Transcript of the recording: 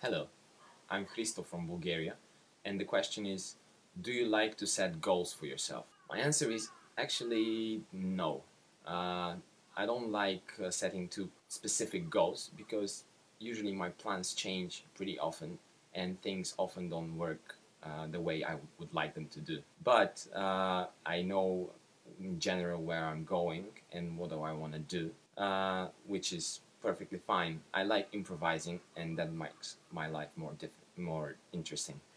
Hello, I'm Christo from Bulgaria, and the question is, do you like to set goals for yourself? My answer is actually no. Uh, I don't like setting too specific goals because usually my plans change pretty often and things often don't work the way I would like them to do. But I know in general where I'm going and what do I want to do, which is perfectly fine. I like improvising, and that makes my life more interesting.